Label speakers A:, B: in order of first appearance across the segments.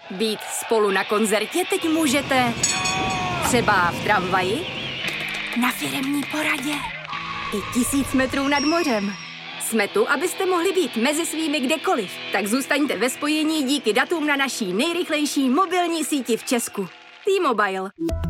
A: Být spolu na koncertě teď můžete třeba v tramvaji, na firemní poradě i 1000 metrů nad mořem. Jsme tu, abyste mohli být mezi svými kdekoliv. Tak zůstaňte ve spojení díky datům na naší nejrychlejší mobilní síti v Česku. T-Mobile.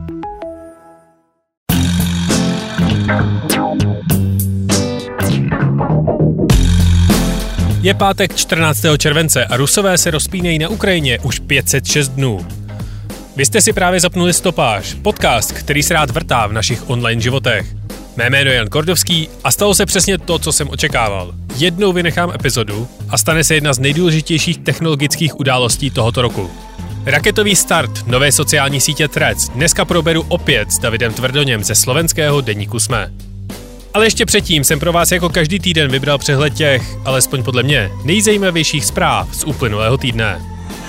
B: Je pátek 14. července a Rusové se rozpínají na Ukrajině už 506 dnů. Vy jste si právě zapnuli Stopáž, podcast, který se rád vrtá v našich online životech. Mé jméno je Jan Kordovský a stalo se přesně to, co jsem očekával. Jednou vynechám epizodu a stane se jedna z nejdůležitějších technologických událostí tohoto roku. Raketový start nové sociální sítě Threads dneska proberu opět s Davidem Tvrdoněm ze slovenského deníku SME. Ale ještě předtím jsem pro vás jako každý týden vybral přehled těch, alespoň podle mě, nejzajímavějších zpráv z uplynulého týdne.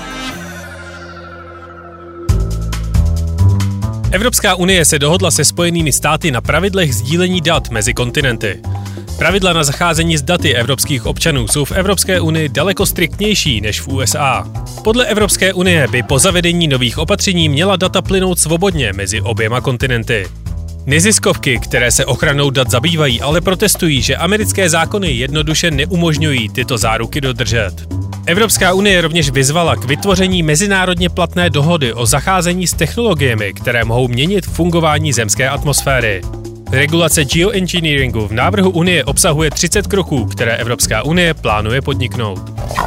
B: Evropská unie se dohodla se Spojenými státy na pravidlech sdílení dat mezi kontinenty. Pravidla na zacházení s daty evropských občanů jsou v Evropské unii daleko striktnější než v USA. Podle Evropské unie by po zavedení nových opatření měla data plynout svobodně mezi oběma kontinenty. Neziskovky, které se ochranou dat zabývají, ale protestují, že americké zákony jednoduše neumožňují tyto záruky dodržet. Evropská unie rovněž vyzvala k vytvoření mezinárodně platné dohody o zacházení s technologiemi, které mohou měnit fungování zemské atmosféry. Regulace geoengineeringu v návrhu Unie obsahuje 30 kroků, které Evropská unie plánuje podniknout.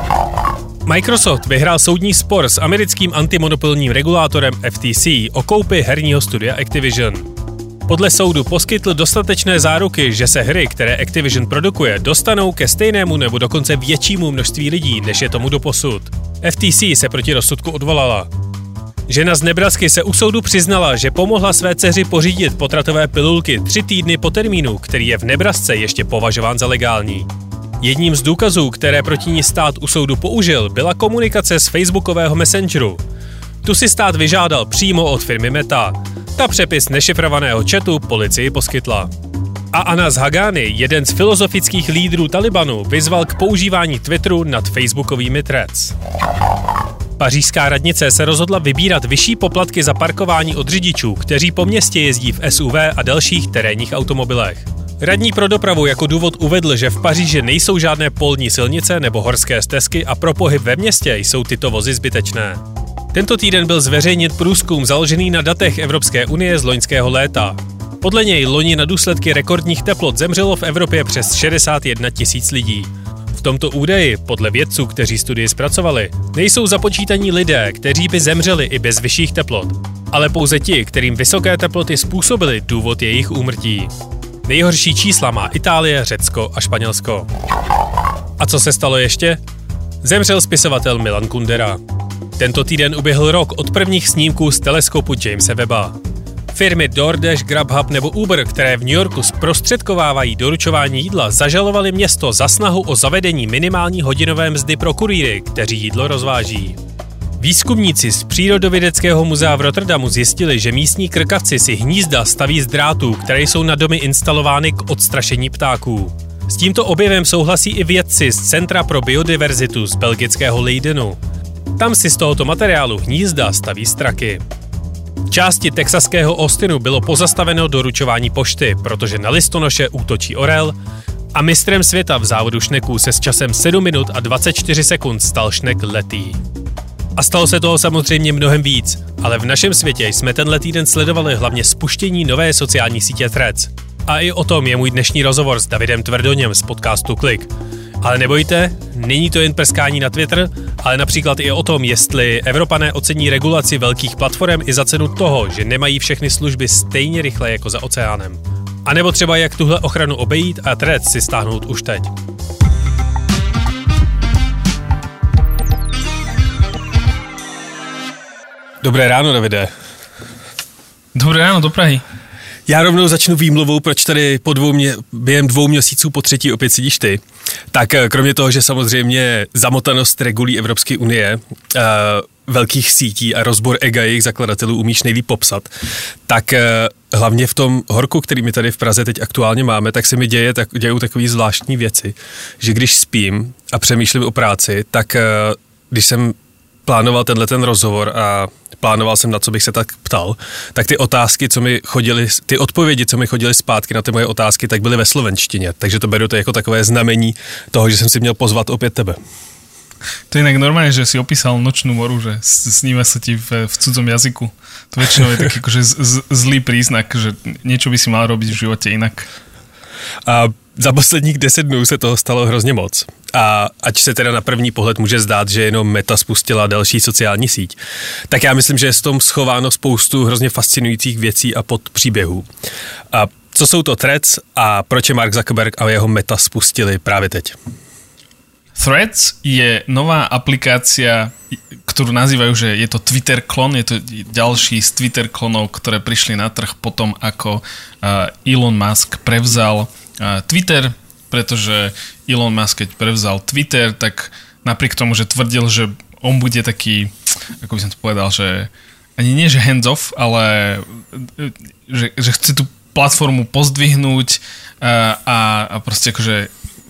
B: Microsoft vyhrál soudní spor s americkým antimonopolním regulátorem FTC o koupi herního studia Activision. Podle soudu poskytl dostatečné záruky, že se hry, které Activision produkuje, dostanou ke stejnému nebo dokonce většímu množství lidí, než je tomu doposud. FTC se proti rozsudku odvolala. Žena z Nebrasky se u soudu přiznala, že pomohla své dceři pořídit potratové pilulky 3 týdny po termínu, který je v Nebrasce ještě považován za legální. Jedním z důkazů, které proti ní stát u soudu použil, byla komunikace z facebookového messengeru. Tu si stát vyžádal přímo od firmy Meta. Ta přepis nešifrovaného chatu policii poskytla. A Anas Haqqani, jeden z filozofických lídrů Talibanu, vyzval k používání Twitteru nad facebookovými threads. Pařížská radnice se rozhodla vybírat vyšší poplatky za parkování od řidičů, kteří po městě jezdí v SUV a dalších terénních automobilech. Radní pro dopravu jako důvod uvedl, že v Paříži nejsou žádné polní silnice nebo horské stezky a pro pohyb ve městě jsou tyto vozy zbytečné. Tento týden byl zveřejnit průzkum založený na datech Evropské unie z loňského léta. Podle něj loni na důsledky rekordních teplot zemřelo v Evropě přes 61 000 lidí. V tomto údaji, podle vědců, kteří studii zpracovali, nejsou započítaní lidé, kteří by zemřeli i bez vyšších teplot, ale pouze ti, kterým vysoké teploty způsobily důvod jejich úmrtí. Nejhorší čísla má Itálie, Řecko a Španělsko. A co se stalo ještě? Zemřel spisovatel Milan Kundera. Tento týden uběhl rok od prvních snímků z teleskopu Jamese Webba. Firmy DoorDash, Grubhub nebo Uber, které v New Yorku zprostředkovávají doručování jídla, zažalovaly město za snahu o zavedení minimální hodinové mzdy pro kurýry, kteří jídlo rozváží. Výzkumníci z Přírodovědeckého muzea v Rotterdamu zjistili, že místní krkavci si hnízda staví z drátů, které jsou na domy instalovány k odstrašení ptáků. S tímto objevem souhlasí i vědci z Centra pro biodiverzitu z belgického Leidenu. Tam si z tohoto materiálu hnízda staví straky. V části texaského Austinu bylo pozastaveno doručování pošty, protože na listonoše útočí orel a mistrem světa v závodu šneků se s časem 7 minut a 24 sekund stal šnek Letý. A stalo se toho samozřejmě mnohem víc, ale v našem světě jsme tenhle týden sledovali hlavně spuštění nové sociální sítě Threads. A i o tom je můj dnešní rozhovor s Davidem Tvrdoněm z podcastu Klik. Ale nebojte, není to jen prskání na Twitter, ale například i o tom, jestli Evropané ocení regulaci velkých platform i za cenu toho, že nemají všechny služby stejně rychle jako za oceánem. A nebo třeba jak tuhle ochranu obejít a Threads si stáhnout už teď. Dobré ráno, Davide.
C: Dobré ráno, do Prahy.
B: Já rovnou začnu výmluvou, proč tady během 2 měsíců po třetí opět sedíš ty. Tak kromě toho, že samozřejmě zamotanost regulí Evropské unie, velkých sítí a rozbor ega jejich zakladatelů umíš nejlíp popsat, tak hlavně v tom horku, který my tady v Praze teď aktuálně máme, tak se mi dějou takové zvláštní věci, že když spím a přemýšlím o práci, tak když jsem plánoval ten rozhovor a plánoval jsem, na co bych se tak ptal, tak ty odpovědi, co mi chodily zpátky na ty moje otázky, tak byly ve slovenštině, takže to beru to jako takové znamení toho, že jsem si měl pozvat opět tebe.
C: To je inak normálne, že si opísal Nočnú moru, že sníva sa ti v cudzom jazyku. To väčšinou je taký akože zlý príznak, že niečo by si mal robiť v živote inak.
B: A za posledních 10 dnů se toho stalo hrozně moc. A ať se teda na první pohled může zdát, že jenom Meta spustila další sociální síť, tak já myslím, že je v tom schováno spoustu hrozně fascinujících věcí a podpříběhů. A co jsou to Threads a proč je Mark Zuckerberg a jeho Meta spustili právě teď?
C: Threads je nová aplikácia, ktorú nazývajú, že je to Twitter klon, je to ďalší z Twitter klonov, ktoré prišli na trh potom, ako Elon Musk prevzal Twitter, pretože Elon Musk, keď prevzal Twitter, tak napriek tomu, že tvrdil, že on bude taký, ako by som to povedal, že ani nie, že hands off, ale že chce tú platformu pozdvihnúť a proste akože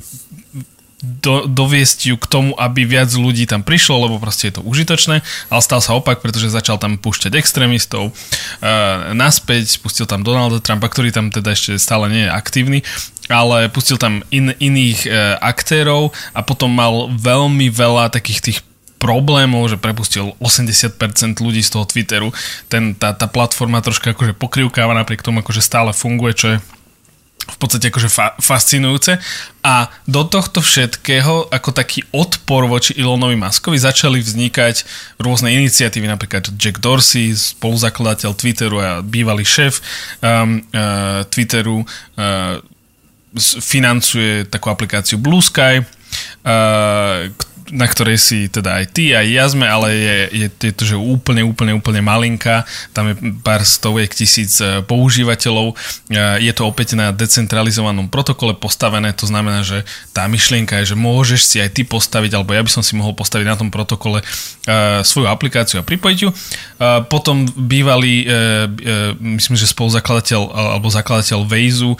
C: doviesť ju k tomu, aby viac ľudí tam prišlo, lebo proste je to užitočné, ale stal sa opak, pretože začal tam púšťať extrémistov naspäť, pustil tam Donalda Trumpa, ktorý tam teda ešte stále nie je aktívny, ale pustil tam iných aktérov a potom mal veľmi veľa takých tých problémov, že prepustil 80% ľudí z toho Twitteru. Tá platforma troška akože pokrývkáva napriek tomu, akože stále funguje, čo je v podstate akože fascinujúce. A do tohto všetkého ako taký odpor voči Elonovi Muskovi začali vznikať rôzne iniciatívy, napríklad Jack Dorsey, spoluzakladateľ Twitteru a bývalý šéf Twitteru, financuje takú aplikáciu Blue Sky, na ktorej si teda aj ty, aj ja sme, ale je to, že úplne malinká, tam je pár stoviek tisíc používateľov, je to opäť na decentralizovanom protokole postavené, to znamená, že tá myšlienka je, že môžeš si aj ty postaviť, alebo ja by som si mohol postaviť na tom protokole svoju aplikáciu a pripojiť ju. Potom bývalý, myslím, že spoluzakladateľ alebo zakladateľ Waze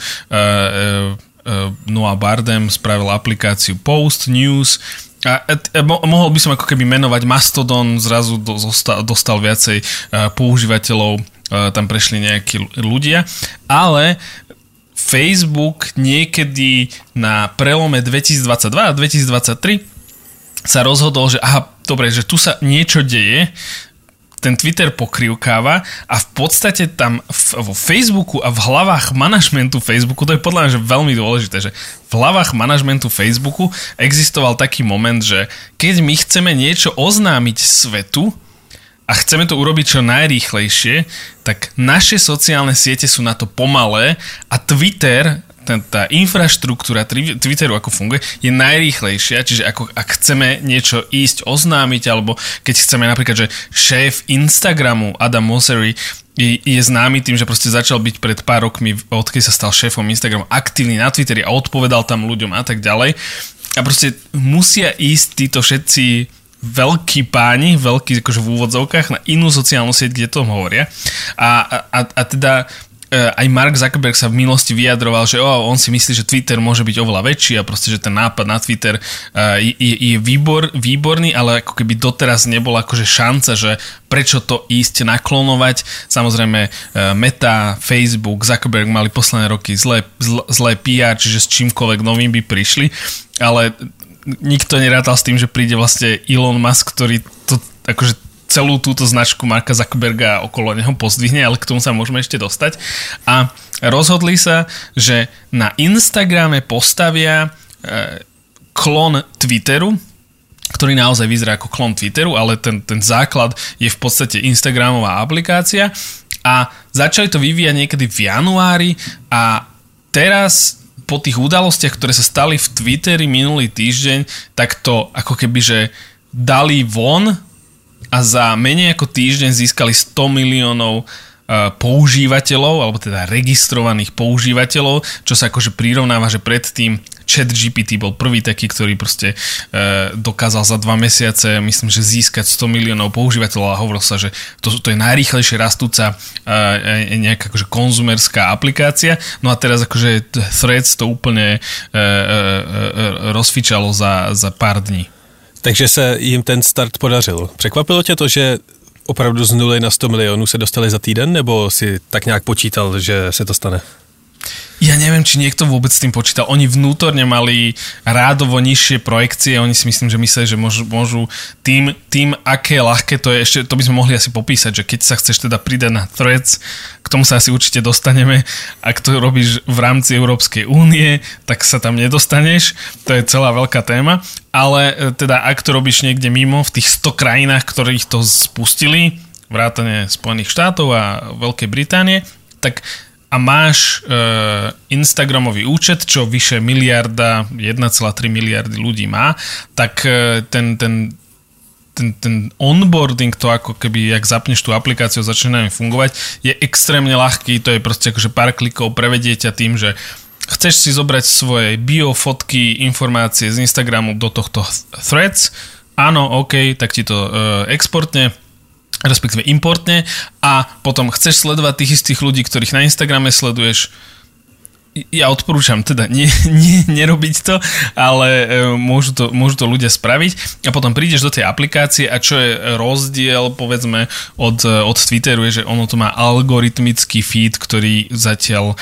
C: Noah Bardem spravil aplikáciu Post News. A mohol by som ako keby menovať Mastodon, zrazu dostal viacej používateľov, tam prešli nejakí ľudia, ale Facebook niekedy na prelome 2022 a 2023 sa rozhodol, že dobre, že tu sa niečo deje, ten Twitter pokrývkáva a v podstate tam vo Facebooku a v hlavách manažmentu Facebooku, to je podľa mňa že veľmi dôležité, že v hlavách manažmentu Facebooku existoval taký moment, že keď my chceme niečo oznámiť svetu a chceme to urobiť čo najrýchlejšie, tak naše sociálne siete sú na to pomalé a Twitter, tá infraštruktúra Twitteru, ako funguje, je najrýchlejšia, čiže ak chceme niečo ísť oznámiť, alebo keď chceme napríklad, že šéf Instagramu Adam Mosseri je známy tým, že proste začal byť pred pár rokmi, odkedy sa stal šéfom Instagramu, aktívny na Twitteri a odpovedal tam ľuďom a tak ďalej. A proste musia ísť títo všetci veľkí páni, veľkí akože v úvodzovkách, na inú sociálnu sieť, kde to hovoria. A teda aj Mark Zuckerberg sa v minulosti vyjadroval, že on si myslí, že Twitter môže byť oveľa väčší a proste, že ten nápad na Twitter je výborný, ale ako keby doteraz nebola akože šanca, že prečo to ísť naklonovať. Samozrejme Meta, Facebook, Zuckerberg mali posledné roky zlé PR, čiže s čímkoľvek novým by prišli, ale nikto nerátal s tým, že príde vlastne Elon Musk, ktorý to akože celú túto značku Marka Zuckerberga okolo neho pozdvihne, ale k tomu sa môžeme ešte dostať. A rozhodli sa, že na Instagrame postavia klon Twitteru, ktorý naozaj vyzerá ako klon Twitteru, ale ten základ je v podstate Instagramová aplikácia a začali to vyvíjať niekedy v januári a teraz po tých udalostiach, ktoré sa stali v Twitteri minulý týždeň, tak to ako keby, že dali von a za menej ako týždeň získali 100 miliónov používateľov, alebo teda registrovaných používateľov, čo sa akože prirovnáva, že predtým ChatGPT bol prvý taký, ktorý proste dokázal za 2 mesiace, myslím, že získať 100 miliónov používateľov a hovorilo sa, že to je najrýchlejšie rastúca nejaká akože konzumerská aplikácia. No a teraz akože Threads to úplne rozfičalo za pár dní.
B: Takže se jim ten start podařil. Překvapilo tě to, že opravdu z 0 na 100 milionů se dostali za týden, nebo si tak nějak počítal, že se to stane?
C: Ja neviem, či niekto vôbec s tým počítal. Oni vnútorne mali rádovo nižšie projekcie, oni si myslím, že mysleli, že môžu tým, aké ľahké to je, ešte to by sme mohli asi popísať, že keď sa chceš teda pridať na Threads, k tomu sa asi určite dostaneme, ak to robíš v rámci Európskej únie, tak sa tam nedostaneš, to je celá veľká téma, ale teda ak to robíš niekde mimo, v tých 100 krajinách, ktorých to spustili, vrátane Spojených štátov a Veľkej Británie, tak a máš Instagramový účet, čo vyše 1,3 miliardy ľudí má, tak ten onboarding, to ako keby, jak zapneš tú aplikáciu a začne na ňu fungovať, je extrémne ľahký, to je proste akože pár klikov, prevedie ťa tým, že chceš si zobrať svoje bio, fotky, informácie z Instagramu do tohto Threads, áno, OK, tak ti to exportne, respektíve importne a potom chceš sledovať tých istých ľudí, ktorých na Instagrame sleduješ. Ja odporúčam teda nerobiť to, ale môžu to ľudia spraviť a potom prídeš do tej aplikácie a čo je rozdiel povedzme od Twitteru je, že ono to má algoritmický feed, ktorý zatiaľ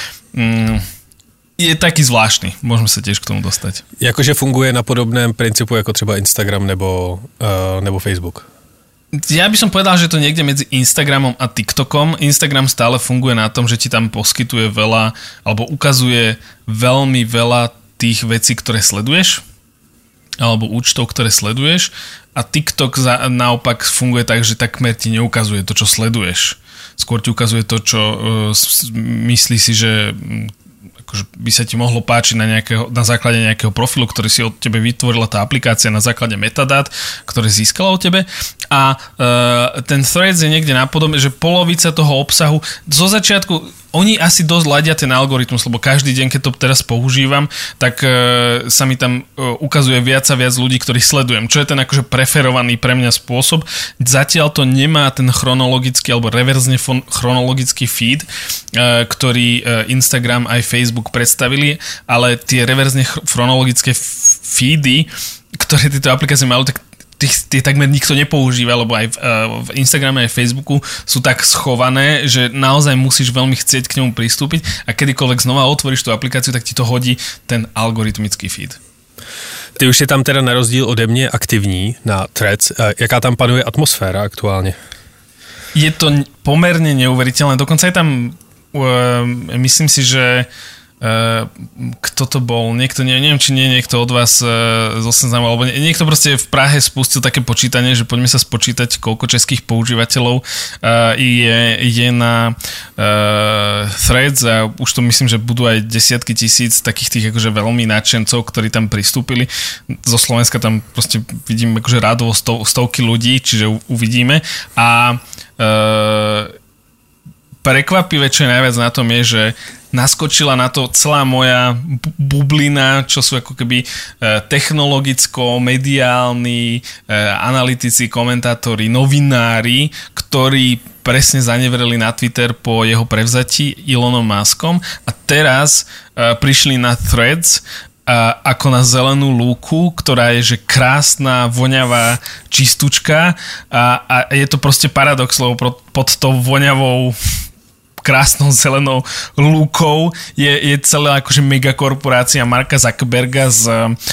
C: je taký zvláštny. Môžeme sa tiež k tomu dostať.
B: Jakože funguje na podobném principu ako třeba Instagram nebo Facebook?
C: Ja by som povedal, že to niekde medzi Instagramom a TikTokom. Instagram stále funguje na tom, že ti tam poskytuje veľa, alebo ukazuje veľmi veľa tých vecí, ktoré sleduješ, alebo účtov, ktoré sleduješ. A TikTok naopak funguje tak, že takmer ti neukazuje to, čo sleduješ. Skôr ti ukazuje to, čo myslí si, že akože by sa ti mohlo páčiť na základe nejakého profilu, ktorý si od tebe vytvorila tá aplikácia na základe metadát, ktoré získala od tebe. A ten Threads je niekde napodobne, že polovica toho obsahu zo začiatku oni asi dosť ladia ten algoritmus, lebo každý deň, keď to teraz používam, tak sa mi tam ukazuje viac a viac ľudí, ktorých sledujem. Čo je ten akože preferovaný pre mňa spôsob. Zatiaľ to nemá ten chronologický alebo reverzne chronologický feed, ktorý Instagram aj Facebook predstavili, ale tie reverzne chronologické feedy, ktoré tieto aplikácie majú, tak tie takmer nikto nepoužíva, lebo aj v Instagrame aj v Facebooku sú tak schované, že naozaj musíš veľmi chcieť k nemu pristúpiť a kedykoľvek znova otvoríš tú aplikáciu, tak ti to hodí ten algoritmický feed.
B: Ty už je tam teda na rozdíl ode mě aktivní na Threads. Jaká tam panuje atmosféra aktuálně?
C: Je to pomerne neuveriteľné. Dokonca je tam, myslím si, že kto to bol, niekto, neviem, či nie niekto od vás zo Seznamu, alebo niekto proste v Prahe spustil také počítanie, že poďme sa spočítať, koľko českých používateľov je na Threads a už to myslím, že budú aj desiatky tisíc takých tých akože veľmi nadšencov, ktorí tam pristúpili. Zo Slovenska tam proste vidím akože rádovo stovky ľudí, čiže uvidíme a prekvapivé, čo je najviac na tom je, že naskočila na to celá moja bublina, čo sú ako keby technologicko-mediálni analytici, komentátori, novinári, ktorí presne zanevreli na Twitter po jeho prevzatí Elonom Muskom a teraz prišli na Threads ako na zelenú lúku, ktorá je že krásna, voňavá čistučka a je to proste paradox, lebo pod tou voňavou krásnou zelenou lúkou je celá akože megakorporácia Marka Zuckerberga s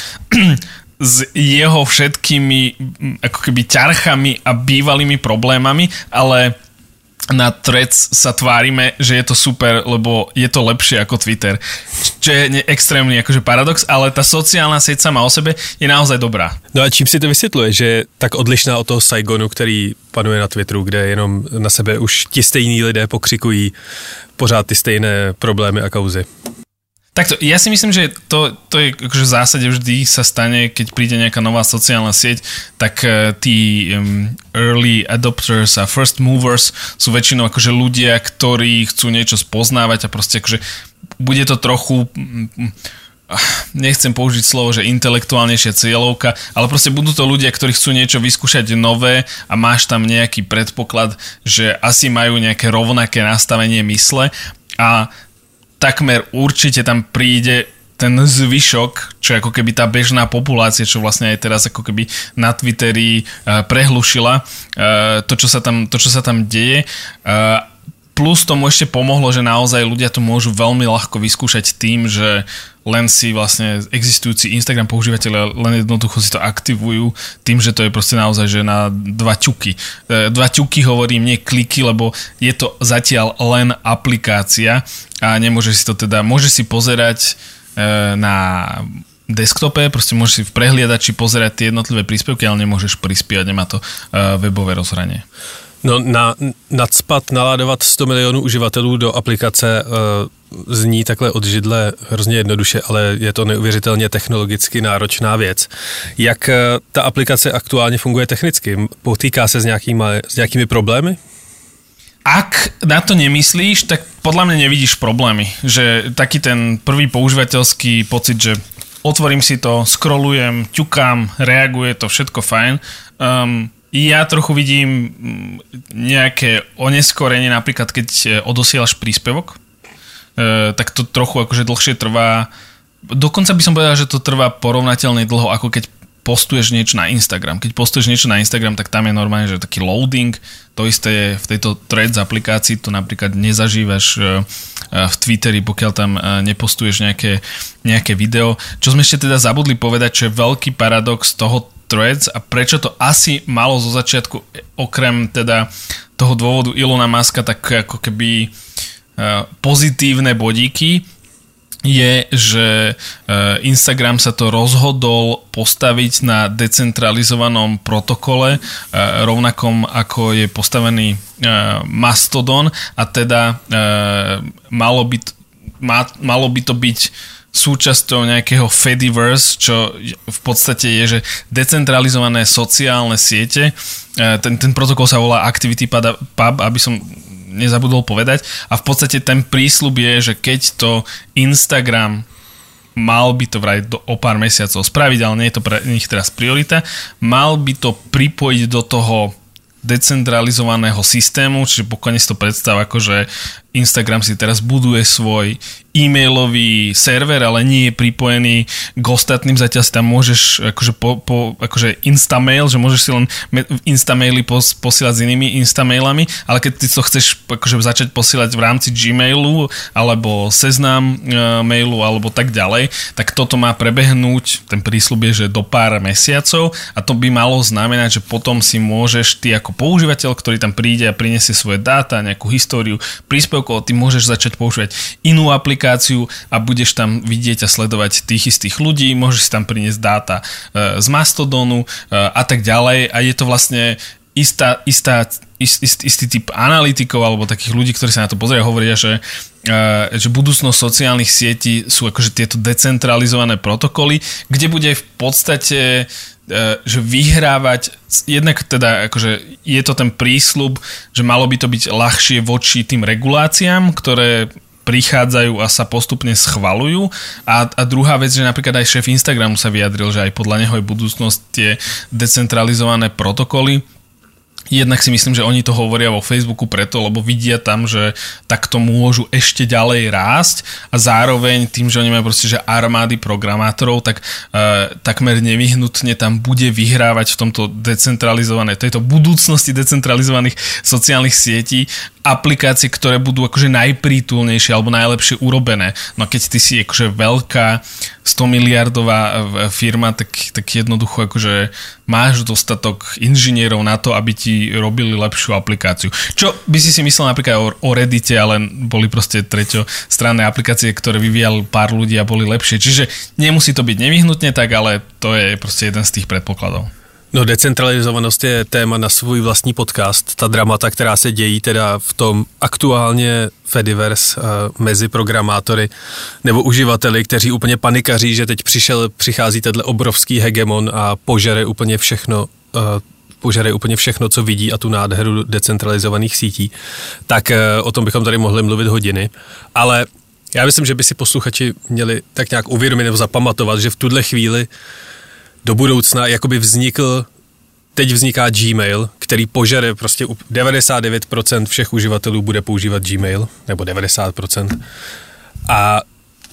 C: jeho všetkými ako keby ťarchami a bývalými problémami, ale na Threads sa tvárime, že je to super, lebo je to lepšie ako Twitter. Čo je extrémny akože paradox, ale tá sociálna sieť sama o sebe je naozaj dobrá.
B: No a čím si to vysvětluje, že je tak odlišná od toho Saigonu, který panuje na Twitteru, kde jenom na sebe už ti stejní lidé pokřikují pořád ty stejné problémy a kauzy?
C: Takto, ja si myslím, že to je akože v zásade vždy sa stane, keď príde nejaká nová sociálna sieť, tak tí early adopters a first movers sú väčšinou akože ľudia, ktorí chcú niečo spoznávať a proste akože bude to trochu, nechcem použiť slovo, že intelektuálnejšia cieľovka, ale proste budú to ľudia, ktorí chcú niečo vyskúšať nové a máš tam nejaký predpoklad, že asi majú nejaké rovnaké nastavenie mysle a takmer určite tam príde ten zvyšok, čo je ako keby tá bežná populácia, čo vlastne aj teraz ako keby na Twitteri prehlušila to, čo sa tam deje. Plus tomu ešte pomohlo, že naozaj ľudia to môžu veľmi ľahko vyskúšať tým, že len si vlastne existujúci Instagram používateľe len jednoducho si to aktivujú tým, že to je proste naozaj, že na 2 ťuky. 2 ťuky hovorím, nie kliky, lebo je to zatiaľ len aplikácia a nemôžeš si to teda, môžeš si pozerať na desktope, proste môžeš si v prehliadači pozerať tie jednotlivé príspevky, ale nemôžeš prispievať, nemá to webové rozhranie.
B: No nacpat, naládovat 100 milionů uživatelů do aplikace zní takhle od židle hrozně jednoduše, ale je to neuvěřitelně technologicky náročná věc. Jak ta aplikace aktuálně funguje technicky? Potýká se s nějakými problémy?
C: Ak na to nemyslíš, tak podľa mňa nevidíš problémy. Že taký ten prvý používateľský pocit, že otvorím si to, scrollujem, ťukám, reaguje to, všetko fajn. Ja trochu vidím nejaké oneskorenie, napríklad keď odosielaš príspevok, tak to trochu akože dlhšie trvá. Dokonca by som povedal, že to trvá porovnateľne dlho, ako keď postuješ niečo na Instagram. Keď postuješ niečo na Instagram, tak tam je normálne, že taký loading. To isté je v tejto Threads aplikácii, to napríklad nezažívaš v Twitteri, pokiaľ tam nepostuješ nejaké video. Čo sme ešte teda zabudli povedať, čo je veľký paradox toho Threads a prečo to asi malo zo začiatku, okrem teda toho dôvodu Elona Muska, tak ako keby pozitívne bodíky, je, že Instagram sa to rozhodol postaviť na decentralizovanom protokole, rovnakom ako je postavený Mastodon, a teda malo by to byť súčasťou nejakého Fediverse, čo v podstate je, že decentralizované sociálne siete. Ten protokol sa volá ActivityPub, aby som nezabudol povedať. A v podstate ten prísľub je, že keď to Instagram mal by to vraj o pár mesiacov spraviť, ale nie je to pre nich teraz priorita, mal by to pripojiť do toho decentralizovaného systému, čiže pokojne si to predstav, ako že Instagram si teraz buduje svoj e-mailový server, ale nie je pripojený k ostatným, zatiaľ si tam môžeš akože instamail, že môžeš si len instamaily posielať s inými instamailami, ale keď ty to chceš akože začať posielať v rámci Gmailu alebo Seznam mailu alebo tak ďalej, tak toto má prebehnúť, ten prísľub je, že do pár mesiacov, a to by malo znamenať, že potom si môžeš ty ako používateľ, ktorý tam príde a prinesie svoje dáta, nejakú históriu príspevkov, ty môžeš začať používať inú aplikáciu a budeš tam vidieť a sledovať tých istých ľudí, môžeš si tam priniesť dáta z Mastodonu a tak ďalej, a je to vlastne istý typ analytikov alebo takých ľudí, ktorí sa na to pozerajú, hovoria, že budúcnosť sociálnych sietí sú akože tieto decentralizované protokoly, kde bude v podstate že vyhrávať, jednak teda akože je to ten prísľub, že malo by to byť ľahšie voči tým reguláciám, ktoré prichádzajú a sa postupne schvaľujú, a druhá vec, že napríklad aj šéf Instagramu sa vyjadril, že aj podľa neho je budúcnosť tie decentralizované protokoly. Jednak si myslím, že oni to hovoria vo Facebooku preto, lebo vidia tam, že takto môžu ešte ďalej rásť, a zároveň tým, že oni majú proste že armády programátorov, tak takmer nevyhnutne tam bude vyhrávať v tomto tejto budúcnosti decentralizovaných sociálnych sietí aplikácie, ktoré budú akože najprítulnejšie alebo najlepšie urobené. No keď ty si akože veľká 100 miliardová firma, tak jednoducho akože máš dostatok inžinierov na to, aby ti robili lepšiu aplikáciu. Čo by si myslel napríklad o Reddite, ale boli proste treťostranné aplikácie, ktoré vyvíjali pár ľudí a boli lepšie. Čiže nemusí to byť nevyhnutne tak, ale to je proste jeden z tých predpokladov.
B: No, decentralizovanost je téma na svůj vlastní podcast. Ta dramata, která se dějí teda v tom aktuálně Fediverse mezi programátory nebo uživateli, kteří úplně panikaří, že teď přichází tenhle obrovský hegemon a požere úplně všechno, co vidí, a tu nádheru decentralizovaných sítí. Tak o tom bychom tady mohli mluvit hodiny. Ale já myslím, že by si posluchači měli tak nějak uvědomit nebo zapamatovat, že v tuhle chvíli do budoucna jakoby teď vzniká Gmail, který požere prostě 99% všech uživatelů bude používat Gmail, nebo 90%. A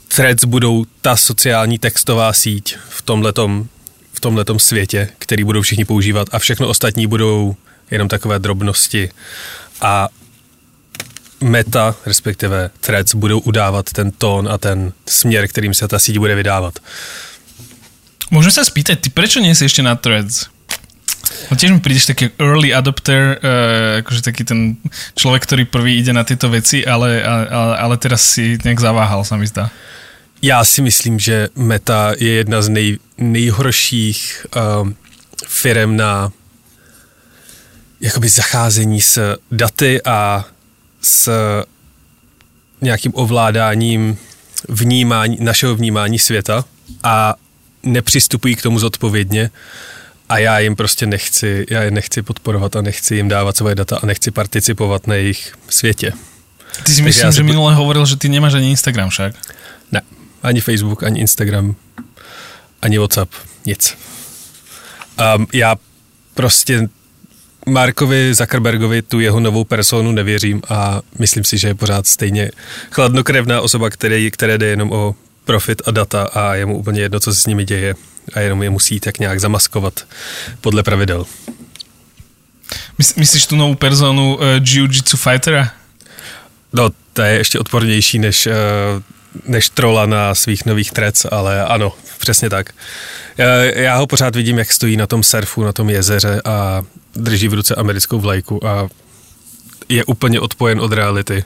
B: Threads budou ta sociální textová síť v tomhletom světě, který budou všichni používat a všechno ostatní budou jenom takové drobnosti a Meta, respektive Threads, budou udávat ten tón a ten směr, kterým se ta síť bude vydávat.
C: Môžem sa spýtať, ty prečo nie si ešte na Threads? No tiež mi prídeš taký early adopter, akože taký ten človek, ktorý prvý ide na tieto veci, ale teraz si nejak zaváhal, sa mi zdá.
B: Já si myslím, že Meta je jedna z nejhorších firem na jakoby zacházení s daty a s nějakým ovládáním našeho vnímání světa a nepřistupují k tomu zodpovědně a já je nechci podporovat a nechci jim dávat svoje data a nechci participovat na jejich světě.
C: Ty si myslím, že minule hovoril, že ty nemáš ani Instagram však?
B: Ne, ani Facebook, ani Instagram, ani WhatsApp, nic. Já prostě Markovi Zuckerbergovi, tu jeho novou personu nevěřím a myslím si, že je pořád stejně chladnokrevná osoba, které jde jenom o profit a data a je mu úplně jedno, co se s nimi děje a jenom je musí tak nějak zamaskovat podle pravidel.
C: Myslíš tu novou personu jiu-jitsu fightera?
B: No, to je ještě odpornější než trola na svých nových Threads, ale ano, přesně tak. Já ho pořád vidím, jak stojí na tom surfu, na tom jezeře a drží v ruce americkou vlajku a je úplně odpojen od reality.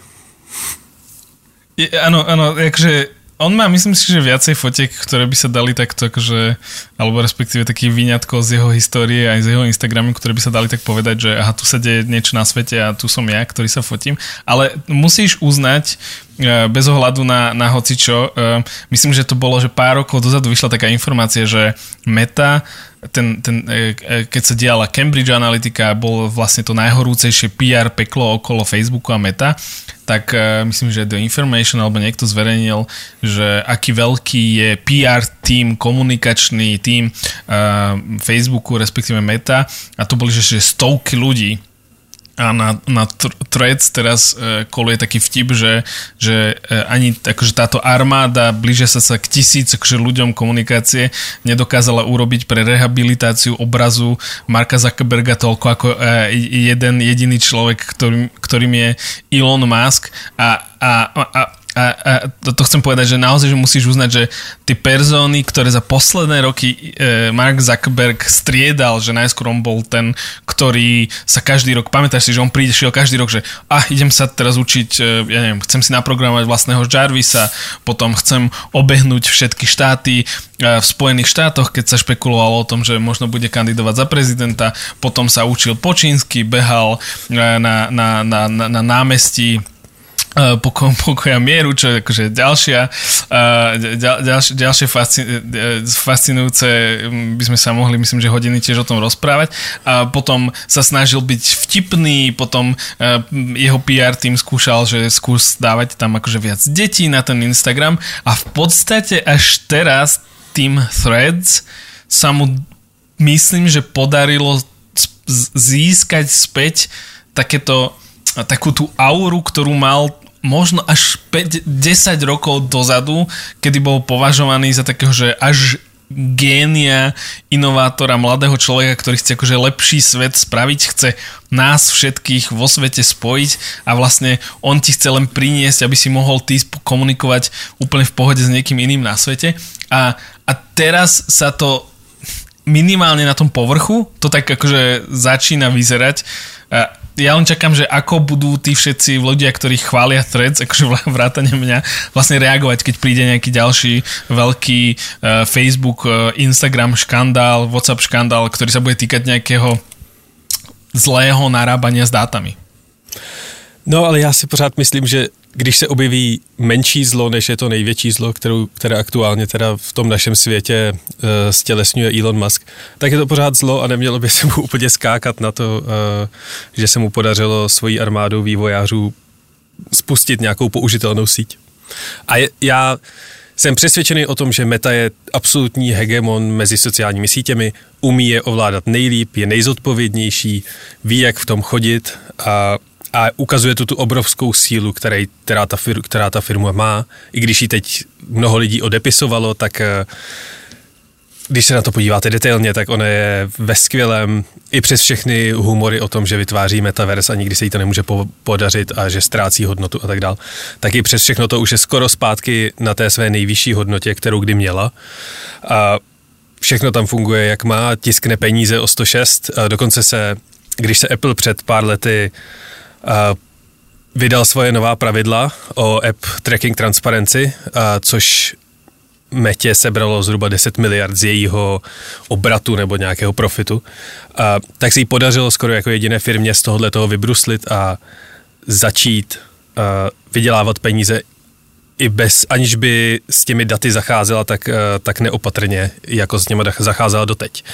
C: Áno, takže on má, myslím si, že viacej fotiek, ktoré by sa dali takto, akože, alebo respektíve taký výňatkov z jeho histórie aj z jeho Instagramu, ktoré by sa dali tak povedať, že aha, tu sa deje niečo na svete a tu som ja, ktorý sa fotím. Ale musíš uznať, bez ohľadu na hocičo, myslím, že to bolo, že pár rokov dozadu vyšla taká informácia, že Meta, keď sa diala Cambridge Analytica, bol vlastne to najhorúcejšie PR peklo okolo Facebooku a Meta, tak myslím, že The Information alebo niekto zverejnil, že aký veľký je PR tím, komunikačný tím Facebooku, respektíve Meta a to boli, že stovky ľudí. A na Threads teraz koluje taký vtip, že ani akože táto armáda blížia sa k 1000 akože ľuďom komunikácie nedokázala urobiť pre rehabilitáciu obrazu Marka Zuckerberga toľko ako jeden jediný človek, ktorým je Elon Musk a to chcem povedať, že naozaj že musíš uznať, že tie persóny, ktoré za posledné roky Mark Zuckerberg striedal, že najskôr on bol ten, ktorý sa každý rok, pamätáš si, že on šiel každý rok, že idem sa teraz učiť, ja neviem, chcem si naprogramovať vlastného Jarvisa, potom chcem obehnúť všetky štáty v Spojených štátoch, keď sa špekulovalo o tom, že možno bude kandidovať za prezidenta, potom sa učil po čínsky, behal na námestí pokoja mieru, čo je akože ďalšie fascinujúce, by sme sa mohli, myslím, že hodiny tiež o tom rozprávať. A potom sa snažil byť vtipný, potom jeho PR tým skúšal, že skús dávať tam akože viac detí na ten Instagram a v podstate až teraz tým Threads sa mu myslím, že podarilo získať späť takú tú auru, ktorú mal možno až 10 rokov dozadu, kedy bol považovaný za takého, že až génia, inovátora, mladého človeka, ktorý chce akože lepší svet spraviť, chce nás všetkých vo svete spojiť a vlastne on ti chce len priniesť, aby si mohol ty komunikovať úplne v pohode s niekým iným na svete a teraz sa to minimálne na tom povrchu to tak akože začína vyzerať. Ja len čakám, že ako budú tí všetci ľudia, ktorí chvália Threads, akože vrátane mňa, vlastne reagovať, keď príde nejaký ďalší veľký Facebook, Instagram škandál, WhatsApp škandál, ktorý sa bude týkať nejakého zlého narábania s dátami.
B: No, ale já si pořád myslím, že když se objeví menší zlo, než je to největší zlo, které aktuálně teda v tom našem světě stělesňuje Elon Musk, tak je to pořád zlo a nemělo by se mu úplně skákat na to, že se mu podařilo svojí armádou vývojářů spustit nějakou použitelnou síť. A já jsem přesvědčený o tom, že Meta je absolutní hegemon mezi sociálními sítěmi, umí je ovládat nejlíp, je nejzodpovědnější, ví, jak v tom chodit A ukazuje tu obrovskou sílu, která ta firma má. I když ji teď mnoho lidí odepisovalo, tak když se na to podíváte detailně, tak ona je ve skvělém, i přes všechny humory o tom, že vytváří metaverse a nikdy se jí to nemůže podařit a že ztrácí hodnotu a tak dál, tak i přes všechno to už je skoro zpátky na té své nejvyšší hodnotě, kterou kdy měla. A všechno tam funguje, jak má, tiskne peníze o 106. A dokonce když se Apple před pár lety vydal svoje nová pravidla o App Tracking Transparency, což Metě sebralo zhruba 10 miliard z jejího obratu nebo nějakého profitu, tak se jí podařilo skoro jako jediné firmě z tohoto vybruslit a začít vydělávat peníze i aniž by s těmi daty zacházela tak neopatrně, jako s nimi zacházela doteď.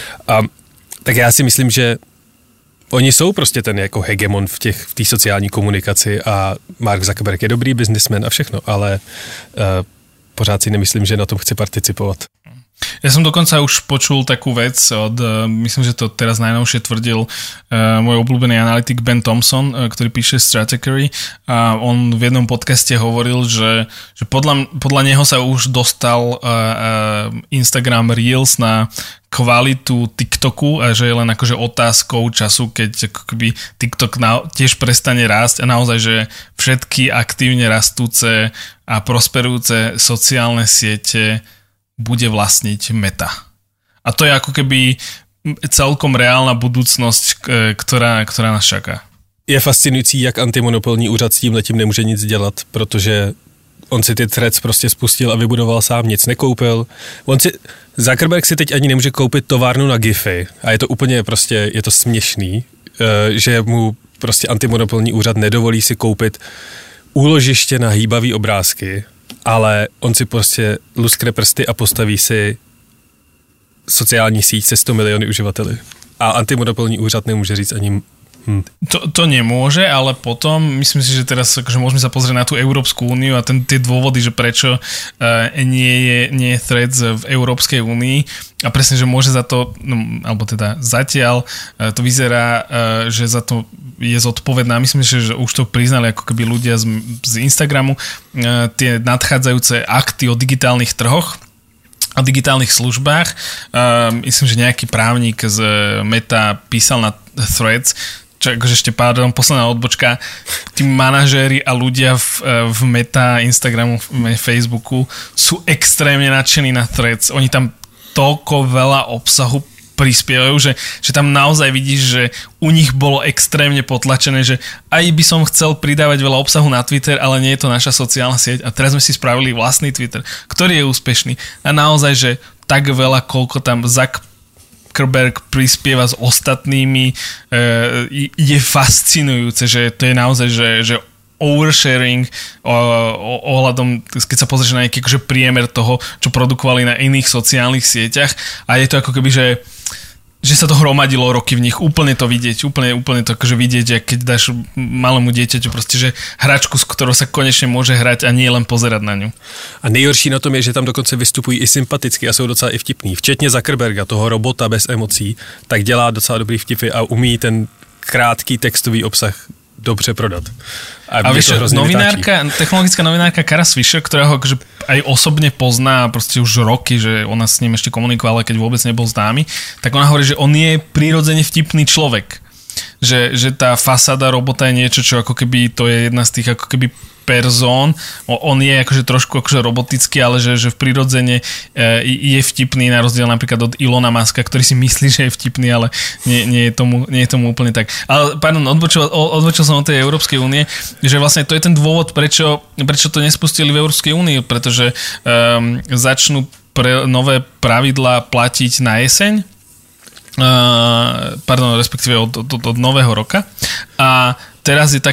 B: Tak já si myslím, že oni jsou prostě ten jako hegemon v té sociální komunikaci a Mark Zuckerberg je dobrý biznismen a všechno, ale pořád si nemyslím, že na tom chci participovat.
C: Ja som dokonca už počul takú vec myslím, že to teraz najnovšie tvrdil môj obľúbený analytik Ben Thompson, ktorý píše Stratechery, a on v jednom podcaste hovoril, že podľa neho sa už dostal Instagram Reels na kvalitu TikToku a že je len akože otázkou času, keď akoby TikTok tiež prestane rásť a naozaj, že všetky aktívne rastúce a prosperujúce sociálne siete bude vlastniť Meta. A to je ako keby celkom reálna budúcnosť, ktorá nás čaká.
B: Je fascinující, jak antimonopolní úřad s tímhletím nemůže nic dělat, protože on si ty threads prostě spustil a vybudoval sám, nic nekoupil. Zuckerberg si teď ani nemůže koupit továrnu na GIFy a je to úplně prostě, je to směšný, že mu prostě antimonopolní úřad nedovolí si koupit úložiště na hýbavý obrázky, ale on si prostě luskne prsty a postaví si sociální síť se 100 miliony uživateli. A antimonopolní úřad nemůže říct ani
C: To nemôže, ale potom myslím si, že teraz akože môžeme sa pozrieť na tú Európsku úniu a tie dôvody, že prečo nie je Threads v Európskej únii a presne, že môže za to, alebo teda zatiaľ to vyzerá, že za to je zodpovedná. Myslím si, že už to priznali ako keby ľudia z Instagramu, tie nadchádzajúce akty o digitálnych trhoch a digitálnych službách. Myslím, že nejaký právnik z Meta písal na Threads, čo akože ešte posledná odbočka, tí manažéri a ľudia v Meta, Instagramu, Facebooku sú extrémne nadšení na Threads. Oni tam toľko veľa obsahu prispievajú, že tam naozaj vidíš, že u nich bolo extrémne potlačené, že aj by som chcel pridávať veľa obsahu na Twitter, ale nie je to naša sociálna sieť a teraz sme si spravili vlastný Twitter, ktorý je úspešný a naozaj, že tak veľa, koľko tam Zuckerberg prispieva s ostatnými, je fascinujúce, že to je naozaj, že oversharing ohľadom, keď sa pozrieš na nejaký akože priemer toho, čo produkovali na iných sociálnych sieťach a je to ako keby, že sa to hromadilo roky v nich, úplne to vidieť, úplne to akože vidieť, keď dáš malému dieťaťu proste, že hračku, s ktorou sa konečne môže hrať a nie len pozerať na ňu.
B: A nejhorší na tom je, že tam dokonce vystupují i sympaticky a jsou docela i vtipní. Včetně Zuckerberga, toho robota bez emocí, tak dělá docela dobrý vtipy a umí ten krátký textový obsah dobře prodat.
C: A vieš, technologická novinárka Kara Swisher, ktorá ho akože aj osobne pozná proste už roky, že ona s ním ešte komunikovala, keď vôbec nebol známy, tak ona hovorí, že on je prirodzene vtipný človek. Že tá fasáda robota je niečo, čo ako keby to je jedna z tých ako keby persón. On je akože trošku akože robotický, ale že v prirodzene je vtipný, na rozdiel napríklad od Ilona Muska, ktorý si myslí, že je vtipný, ale nie je tomu úplne tak. Ale pardon, odbočil som od tej Európskej únie, že vlastne to je ten dôvod, prečo to nespustili v Európskej únii, pretože začnú nové pravidlá platiť na jeseň, respektíve od nového roka. A teraz je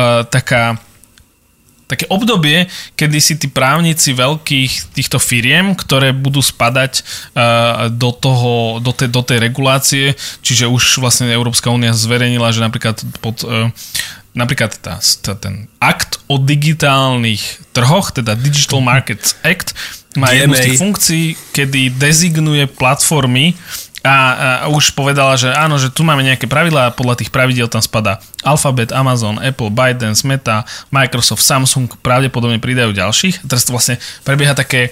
C: také obdobie, kedy si tí právnici veľkých týchto firiem, ktoré budú spadať do tej regulácie, čiže už vlastne Európska únia zverejnila, že napríklad ten akt o digitálnych trhoch, teda Digital Markets Act, má jednu z tých funkcií, kedy dezignuje platformy a už povedala, že áno, že tu máme nejaké pravidlá a podľa tých pravidiel tam spadá Alphabet, Amazon, Apple, ByteDance, Meta, Microsoft, Samsung, pravdepodobne pridajú ďalších. A teraz to vlastne prebieha také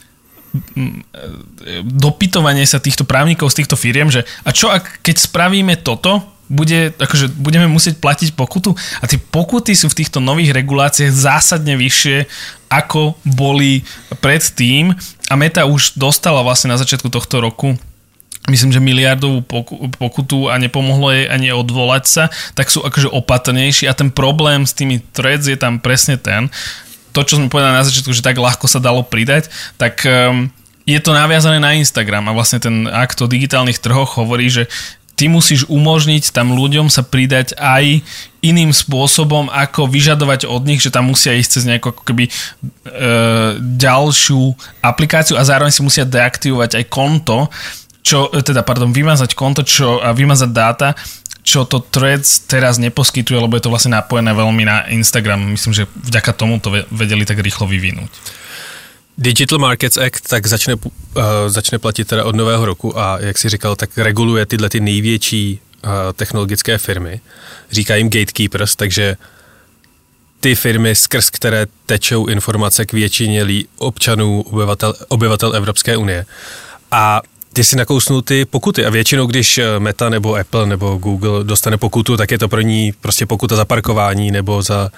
C: dopytovanie sa týchto právnikov z týchto firiem, že a čo keď spravíme toto, budeme musieť platiť pokutu a tie pokuty sú v týchto nových reguláciách zásadne vyššie, ako boli predtým a Meta už dostala vlastne na začiatku tohto roku myslím, že miliardovú pokutu a nepomohlo jej ani odvolať sa, tak sú akože opatrnejší a ten problém s tými threads je tam presne ten, to, čo sme povedali na začiatku, že tak ľahko sa dalo pridať, tak je to naviazané na Instagram a vlastne ten akt o digitálnych trhoch hovorí, že ty musíš umožniť tam ľuďom sa pridať aj iným spôsobom, ako vyžadovať od nich, že tam musia ísť cez nejakú ako keby ďalšiu aplikáciu a zároveň si musia deaktivovať aj konto, vymazať konto a vymazať dáta, čo to Threads teraz neposkytuje, lebo je to vlastne napojené veľmi na Instagram. Myslím, že vďaka tomu to vedeli tak rýchlo vyvinúť.
B: Digital Markets Act tak začne platit teda od nového roku a jak si říkal, tak reguluje tyhle ty největší technologické firmy. Říká jim gatekeepers, takže ty firmy, skrz které tečou informace k většině občanů, obyvatel Evropské unie. A ty si nakousnul ty pokuty a většinou, když Meta nebo Apple nebo Google dostane pokutu, tak je to pro ní prostě pokuta za parkování nebo za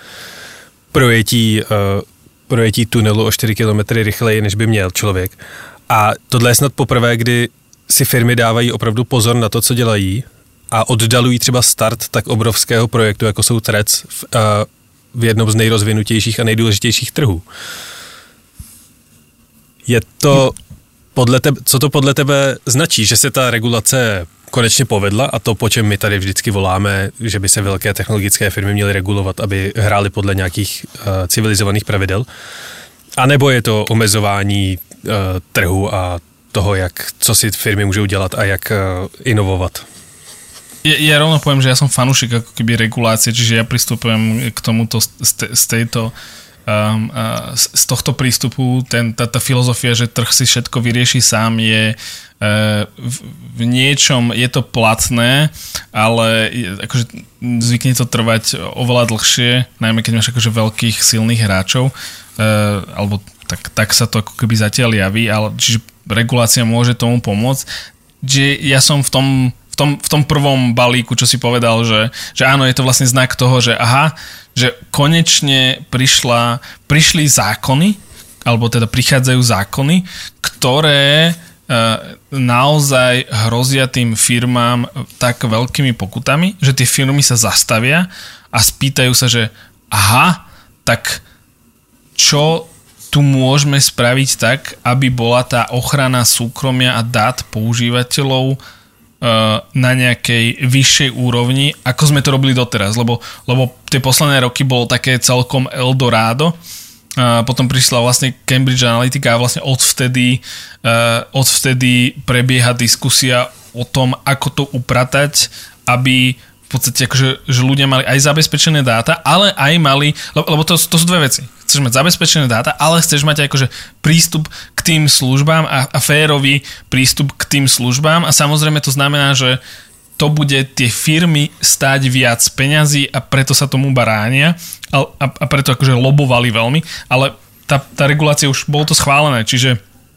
B: projetí tunelu o 4 km rychleji, než by měl člověk. A tohle je snad poprvé, kdy si firmy dávají opravdu pozor na to, co dělají a oddalují třeba start tak obrovského projektu, jako jsou Threads v jednom z nejrozvinutějších a nejdůležitějších trhů. Je to co to podle tebe značí, že se ta regulace konečně povedla a to, po čem my tady vždycky voláme, že by se velké technologické firmy měly regulovat, aby hrály podle nějakých civilizovaných pravidel? A nebo je to omezování trhu a toho, co si firmy můžou dělat a jak inovovat?
C: Ja rovno poviem, že ja som fanúšik ako keby regulácie, čiže ja pristupujem k tomuto z tohto prístupu. Tá filozofia, že trh si všetko vyrieši sám, je v niečom je to platné, ale akože zvykne to trvať oveľa dlhšie, najmä keď máš akože veľkých silných hráčov, alebo tak sa to ako keby zatiaľ javí, ale čiže regulácia môže tomu pomôcť. Že ja som v tom prvom balíku, čo si povedal, že áno, je to vlastne znak toho, že že konečne prišli zákony, alebo teda prichádzajú zákony, ktoré naozaj hrozia tým firmám tak veľkými pokutami, že tie firmy sa zastavia a spýtajú sa, že tak čo tu môžeme spraviť tak, aby bola tá ochrana súkromia a dát používateľov na nejakej vyššej úrovni, ako sme to robili doteraz, lebo tie posledné roky bolo také celkom Eldorado. Potom prišla vlastne Cambridge Analytica a vlastne odvtedy prebieha diskusia o tom, ako to upratať, aby v podstate akože, že ľudia mali aj zabezpečené dáta, ale aj mali, lebo to sú dve veci. Chceš mať zabezpečené dáta, ale chceš mať aj akože prístup k tým službám a férový prístup k tým službám a samozrejme to znamená, že to bude tie firmy stáť viac peňazí a preto sa tomu baránia a preto akože lobovali veľmi, ale tá regulácia už bolo to schválené, čiže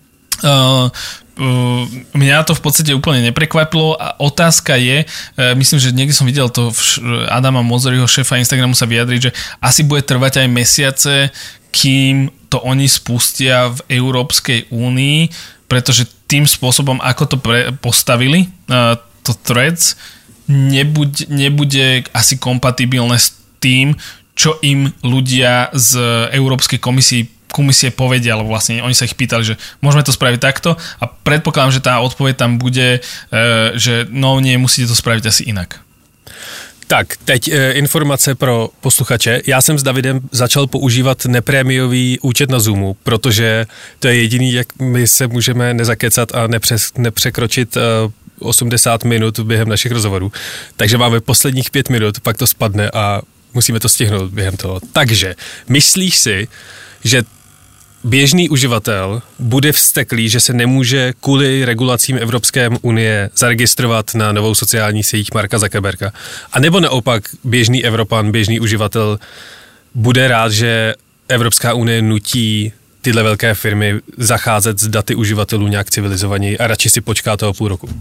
C: mňa to v podstate úplne neprekvapilo a otázka je, myslím, že niekde som videl to Adama Mosseriho, šéfa Instagramu, sa vyjadriť, že asi bude trvať aj mesiace, kým to oni spustia v Európskej únii, pretože tým spôsobom, ako to postavili, to Threads, nebude asi kompatibilné s tým, čo im ľudia z Európskej komisie povedia, alebo vlastne oni sa ich pýtali, že môžeme to spraviť takto a predpokladám, že tá odpoveď tam bude, že nie, musíte to spraviť asi inak.
B: Tak, teď informace pro posluchače. Já jsem s Davidem začal používat neprémiový účet na Zoomu, protože to je jediný, jak my se můžeme nezakecat a nepřekročit 80 minut během našich rozhovorů. Takže máme posledních 5 minut, pak to spadne a musíme to stihnout během toho. Takže, myslíš si, že běžný uživatel bude vzteklý, že se nemůže kvůli regulacím Evropské unie zaregistrovat na novou sociální síť Marka Zuckerberga. A nebo naopak běžný Evropan, běžný uživatel bude rád, že Evropská unie nutí tyhle velké firmy zacházet s daty uživatelů nějak civilizovaněji a radši si počká toho půl roku.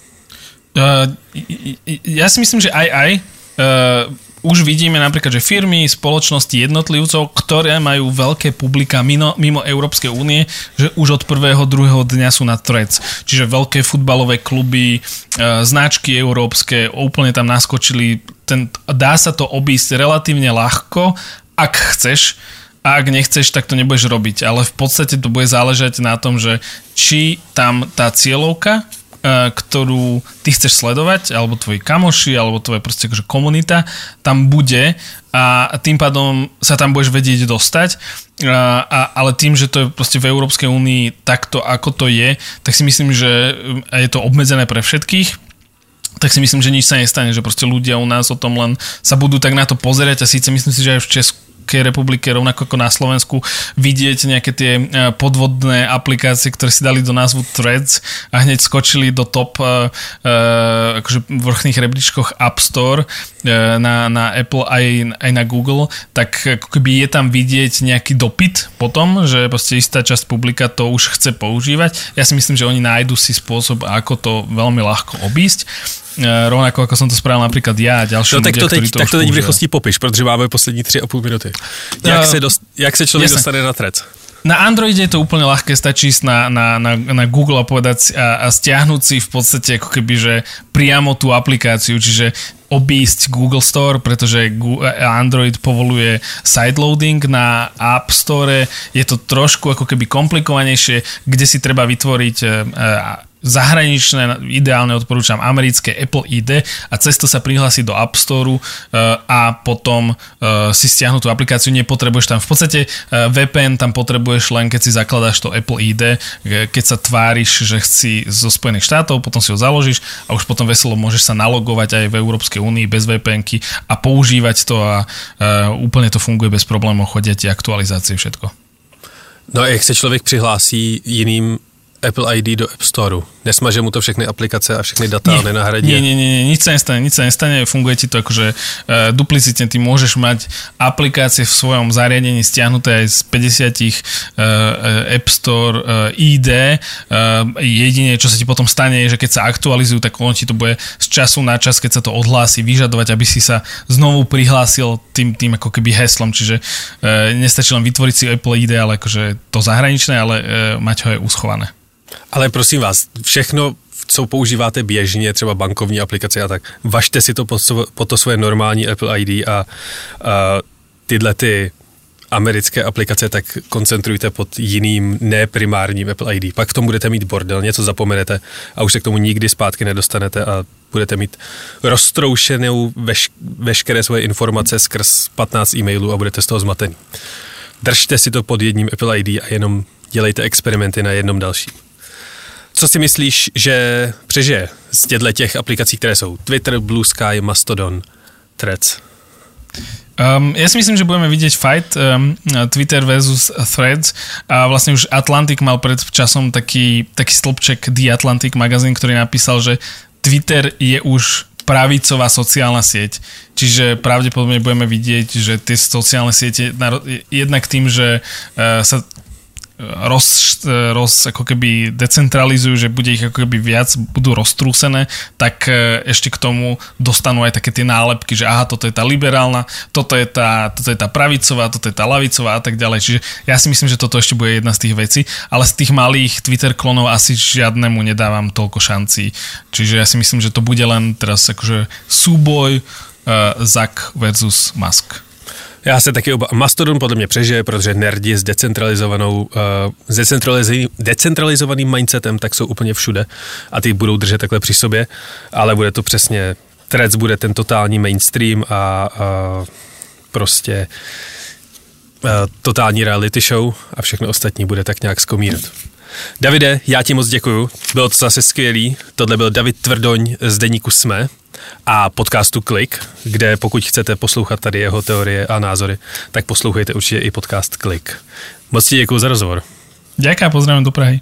C: Ja si myslím, že aj už vidíme napríklad, že firmy, spoločnosti, jednotlivcov, ktoré majú veľké publika mimo Európskej únie, že už od prvého, druhého dňa sú na Threads. Čiže veľké futbalové kluby, značky európske, úplne tam naskočili. Dá sa to obísť relatívne ľahko, ak chceš. A ak nechceš, tak to nebudeš robiť. Ale v podstate to bude záležať na tom, že či tam tá cieľovka, ktorú ty chceš sledovať, alebo tvoji kamoši, alebo tvoja proste akože komunita tam bude a tým pádom sa tam budeš vedieť dostať. Ale tým, že to je proste v Európskej únii takto, ako to je, tak si myslím, že je to obmedzené pre všetkých, tak si myslím, že nič sa nestane, že proste ľudia u nás o tom len sa budú tak na to pozerať a síce myslím si, že aj v Česku republike, rovnako ako na Slovensku, vidieť nejaké tie podvodné aplikácie, ktoré si dali do názvu Threads a hneď skočili do top akože vrchných rebríčkoch App Store na Apple aj na Google, tak ako keby je tam vidieť nejaký dopyt potom, že proste istá časť publika to už chce používať. Ja si myslím, že oni nájdu si spôsob, ako to veľmi ľahko obísť. Rovnako ako som to spravil napríklad ja a ďalší ľudia, ktorí to už používajú. Tak to teď v rychlosti
B: popiš, protože máme poslední 3,5 minuty. Jak se člověk dostane na Threads?
C: Na Androide je to úplne ľahké, stačí ísť na Google a povedať a stiahnuť si v podstate ako keby, že priamo tú aplikáciu, čiže obísť Google Store, pretože Android povoluje sideloading, na App Store je to trošku ako keby komplikovanejšie, kde si treba vytvoriť zahraničné, ideálne odporúčam americké Apple ID a cez to sa prihlásiť do App Store a potom si stiahnuť tú aplikáciu, nepotrebuješ tam v podstate VPN tam potrebuješ len keď si zakladáš to Apple ID, keď sa tváriš, že si zo Spojených štátov, potom si ho založíš a už potom veselo môžeš sa nalogovať aj v Európskej únii bez VPN-ky a používať to a úplne to funguje bez problémov, chodia ti aktualizácie, všetko.
B: No a jak se člověk přihlásí jiným Apple ID do App Storeu. Nesmaže mu to všechny aplikace a všechny data a nenahradí.
C: Nie, nič sa nestane, funguje ti to akože duplicitne, ty môžeš mať aplikácie v svojom zariadení stiahnuté aj z 50 App Store ID. Jedine, čo sa ti potom stane, je, že keď sa aktualizujú, tak ono ti to bude z času na čas, keď sa to odhlási, vyžadovať, aby si sa znovu prihlásil tým ako keby heslom, čiže nestačí len vytvoriť si Apple ID, ale akože to zahraničné, ale mať ho je uschované.
B: Ale prosím vás, všechno, co používáte běžně, třeba bankovní aplikace a tak, važte si to po to svoje normální Apple ID a tyhle ty americké aplikace tak koncentrujte pod jiným neprimárním Apple ID. Pak v tom budete mít bordel, něco zapomenete a už se k tomu nikdy zpátky nedostanete a budete mít roztroušenou veškeré svoje informace skrz 15 e-mailů a budete z toho zmatený. Držte si to pod jedním Apple ID a jenom dělejte experimenty na jednom dalším. Co si myslíš, že přežije z těch aplikací, které jsou Twitter, Blue Sky, Mastodon, Threads?
C: Ja si myslím, že budeme vidieť fight Twitter versus Threads a vlastne už Atlantic mal pred časom taký stĺpček The Atlantic magazín, ktorý napísal, že Twitter je už pravicová sociálna sieť. Čiže pravdepodobne budeme vidieť, že tie sociálne siete jednak tým, že sa ako keby decentralizujú, že bude ich ako keby viac, budú roztrúsené, tak ešte k tomu dostanú aj také tie nálepky, že aha, toto je tá liberálna, toto je tá pravicová, toto je tá lavicová a tak ďalej. Čiže ja si myslím, že toto ešte bude jedna z tých vecí, ale z tých malých Twitter klonov asi žiadnemu nedávam toľko šancí. Čiže ja si myslím, že to bude len teraz akože súboj Zuck versus Musk.
B: Já se taky Mastodon podle mě přežije, protože nerdi s decentralizovaným mindsetem tak jsou úplně všude a ty budou držet takhle při sobě, ale bude to přesně, Threads bude ten totální mainstream a totální reality show a všechno ostatní bude tak nějak skomírat. Davide, já ti moc děkuju, bylo to zase skvělý. Tohle byl David Tvrdoň z deníku SME a podcastu Klik, kde pokud chcete poslouchat tady jeho teorie a názory, tak poslouchejte určitě i podcast Klik. Moc ti děkuju za rozhovor.
C: Ďakujem, pozdravím do Prahy.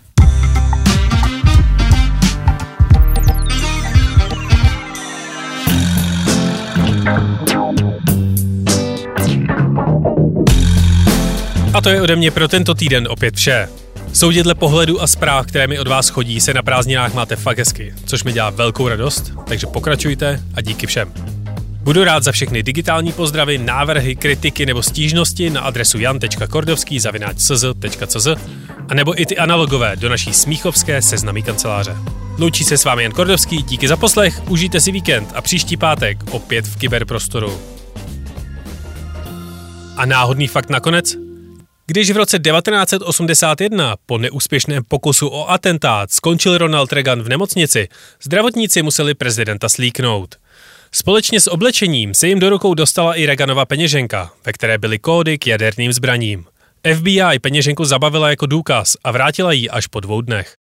B: A to je ode mě pro tento týden opět vše. Soudě dle pohledu a zpráv, které mi od vás chodí, se na prázdninách máte fakt hezky, což mi dělá velkou radost, takže pokračujte a díky všem. Budu rád za všechny digitální pozdravy, návrhy, kritiky nebo stížnosti na adresu jan.kordovský@cz.cz a nebo i ty analogové do naší smíchovské seznamí kanceláře. Loučí se s vámi Jan Kordovský, díky za poslech, užijte si víkend a příští pátek opět v kyberprostoru. A náhodný fakt nakonec? Když v roce 1981 po neúspěšném pokusu o atentát skončil Ronald Reagan v nemocnici, zdravotníci museli prezidenta slíknout. Společně s oblečením se jim do rukou dostala i Reaganova peněženka, ve které byly kódy k jaderným zbraním. FBI peněženku zabavila jako důkaz a vrátila ji až po 2 dnech.